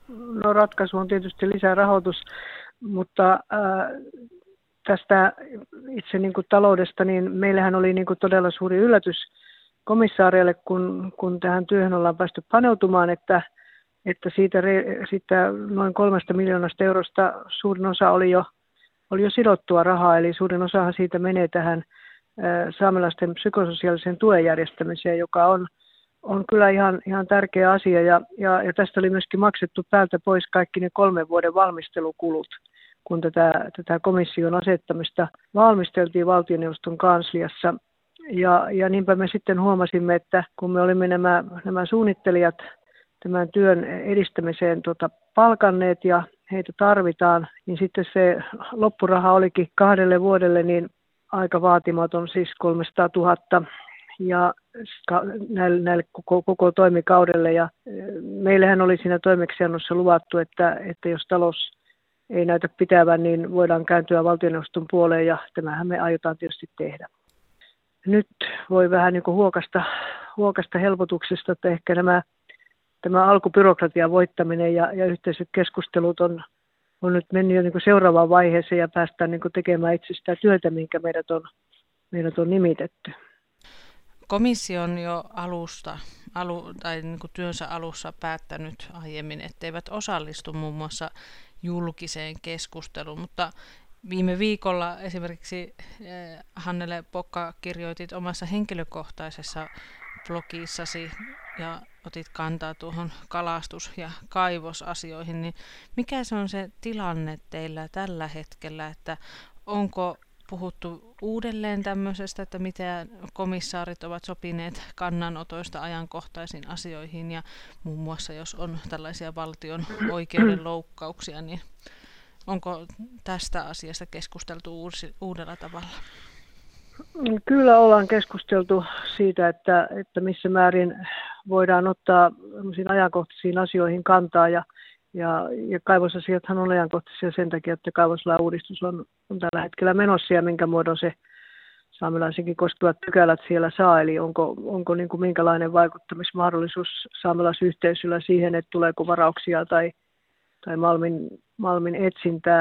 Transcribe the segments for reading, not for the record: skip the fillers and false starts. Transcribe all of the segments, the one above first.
No ratkaisu on tietysti lisää rahoitus, mutta tästä itse niin kuin taloudesta, niin meillähän oli niin kuin todella suuri yllätys komissaareille, kun tähän työhön ollaan päästy paneutumaan, että siitä noin 3 miljoonasta eurosta suurin osa oli jo sidottua rahaa, eli suurin osahan siitä menee tähän saamelaisten psykososiaalisen tuen järjestämiseen, joka on kyllä ihan tärkeä asia, ja tästä oli myöskin maksettu päältä pois kaikki ne 3 vuoden valmistelukulut, kun tätä komission asettamista valmisteltiin valtioneuvoston kansliassa. Ja niinpä me sitten huomasimme, että kun me olimme nämä suunnittelijat tämän työn edistämiseen palkanneet ja heitä tarvitaan, niin sitten se loppuraha olikin 2 vuodelle niin aika vaatimaton, siis 300 000 ja näille koko toimikaudelle. Ja meillähän oli siinä toimeksiannossa luvattu, että jos talous ei näytä pitävän, niin voidaan kääntyä valtioneuvoston puoleen ja tämähän me aiotaan tietysti tehdä. Nyt voi vähän niin kuin huokasta helpotuksesta, että ehkä tämä alkubyrokratian voittaminen ja yhteiset keskustelut on nyt mennyt jo niin kuin seuraavaan vaiheeseen ja päästään niin kuin tekemään itse sitä työtä, minkä meidät on nimitetty. Komissio on jo niin kuin työnsä alussa päättänyt aiemmin, etteivät osallistu muun muassa julkiseen keskusteluun, mutta viime viikolla esimerkiksi Hannele Pokka kirjoitit omassa henkilökohtaisessa blogissasi ja otit kantaa tuohon kalastus- ja kaivosasioihin, niin mikä se on se tilanne teillä tällä hetkellä, että onko puhuttu uudelleen tämmöisestä, että mitä komissaarit ovat sopineet kannanotoista ajankohtaisiin asioihin ja muun muassa jos on tällaisia valtion oikeuden loukkauksia, niin onko tästä asiasta keskusteltu uudella tavalla? Kyllä ollaan keskusteltu siitä, että missä määrin voidaan ottaa ajankohtaisiin asioihin kantaa ja kaivosasiathan on ajankohtaisia sen takia, että kaivoslain uudistus on tällä hetkellä menossa ja minkä muodon se saamelaisenkin koskevat pykälät siellä saa, eli onko niin kuin minkälainen vaikuttamismahdollisuus saamelaisyhteisöllä siihen, että tuleeko varauksia tai malmin etsintää.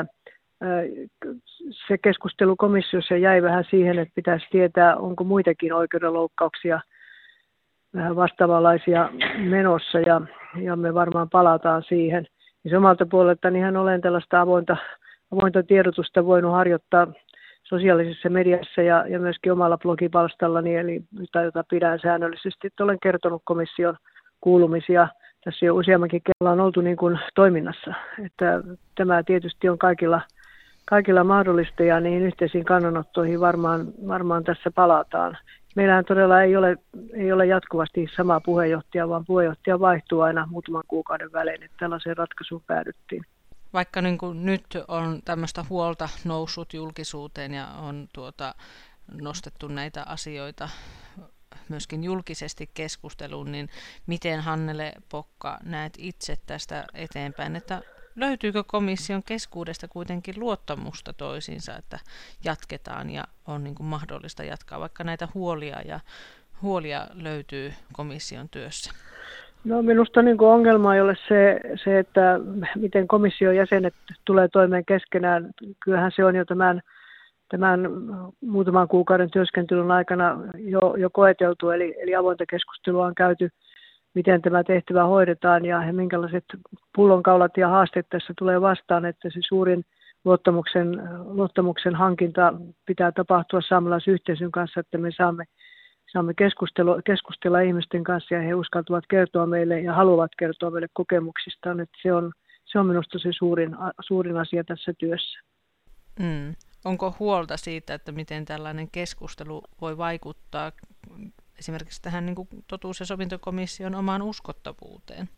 Se keskustelu komissiossa jäi vähän siihen, että pitäisi tietää, onko muitakin oikeudenloukkauksia vähän vastaavanlaisia menossa, ja me varmaan palataan siihen. Ja omalta puoleltani olen tällaista avointa tiedotusta voinut harjoittaa sosiaalisessa mediassa ja myöskin omalla blogipalstallani, jota pidän säännöllisesti, että olen kertonut komission kuulumisia. Tässä jo useammankin kerralla on oltu niin kuin toiminnassa, että tämä tietysti on kaikilla mahdollista ja niihin yhteisiin kannanottoihin varmaan tässä palataan. Meillähän todella ei ole jatkuvasti sama puheenjohtaja, vaan puheenjohtaja vaihtuu aina muutaman kuukauden välein, että tällaiseen ratkaisuun päädyttiin. Vaikka niin kuin nyt on tämmöistä huolta noussut julkisuuteen ja on nostettu näitä asioita myöskin julkisesti keskusteluun, niin miten Hannele Pokka näet itse tästä eteenpäin, että löytyykö komission keskuudesta kuitenkin luottamusta toisiinsa, että jatketaan ja on niin kuin mahdollista jatkaa, vaikka näitä huolia löytyy komission työssä? No minusta niin kuin ongelma ei ole se, että miten komission jäsenet tulee toimeen keskenään. Kyllähän se on jo tämän muutaman kuukauden työskentelyn aikana jo koeteltu, eli avointa keskustelua on käyty, miten tämä tehtävä hoidetaan ja minkälaiset pullonkaulat ja haasteet tässä tulee vastaan, että se suurin luottamuksen hankinta pitää tapahtua saamelaisyhteisön kanssa, että me saamme keskustella ihmisten kanssa ja he uskaltavat kertoa meille ja haluavat kertoa meille kokemuksistaan, että se on minusta se suurin asia tässä työssä. Onko huolta siitä, että miten tällainen keskustelu voi vaikuttaa esimerkiksi tähän niin kuin totuus- ja sovintokomission omaan uskottavuuteen?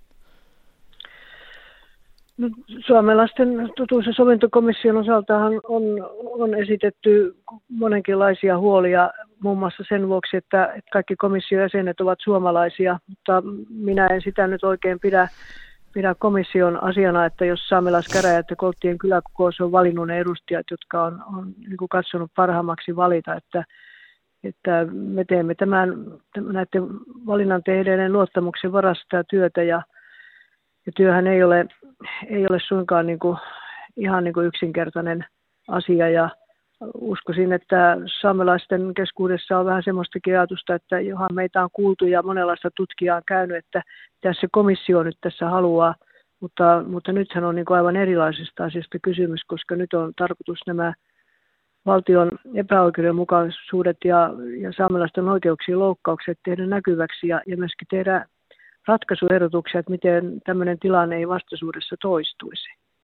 No, saamelaisten totuus- ja sovintokomission osaltahan on esitetty monenkinlaisia huolia, muun muassa sen vuoksi, että kaikki komission jäsenet ovat suomalaisia, mutta minä en sitä nyt oikein pidä komission asiana, että jos saamelaiskäräjät ja Kolttien kyläkokous on valinnut ne edustajat, jotka on niin kuin katsonut parhaammaksi valita, että me teemme näiden valinnan tehneiden luottamuksen varassa sitä työtä ja työhän ei ole ei ole suinkaan ihan yksinkertainen asia ja uskoisin, että saamelaisten keskuudessa on vähän semmoistakin ajatusta, että johan meitä on kuultu ja monenlaista tutkijaa on käynyt, että tässä komissio nyt tässä haluaa, mutta nythän on aivan erilaisesta asiasta kysymys, koska nyt on tarkoitus nämä valtion epäoikeudenmukaisuudet ja saamelaisten oikeuksien loukkaukset tehdä näkyväksi ja myöskin tehdä ratkaisuehdotuksia, että miten tämmöinen tilanne ei vastaisuudessa toistuisi.